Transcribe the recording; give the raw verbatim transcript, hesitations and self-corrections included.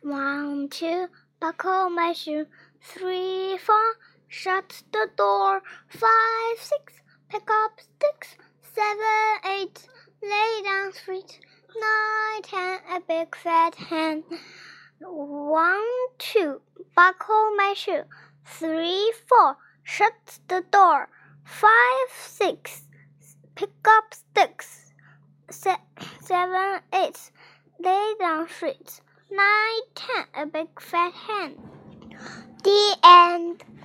One, two, buckle my shoe. Three, four, shut the door. Five, six, pick up sticks. Seven, eight, lay down straight. Nine, ten, a big fat hen. One, two, buckle my shoe. Three, four, shut the door. Five, six, pick up sticks. Se seven, eight, lay down straight. Nine, ten, a big fat hen. The end.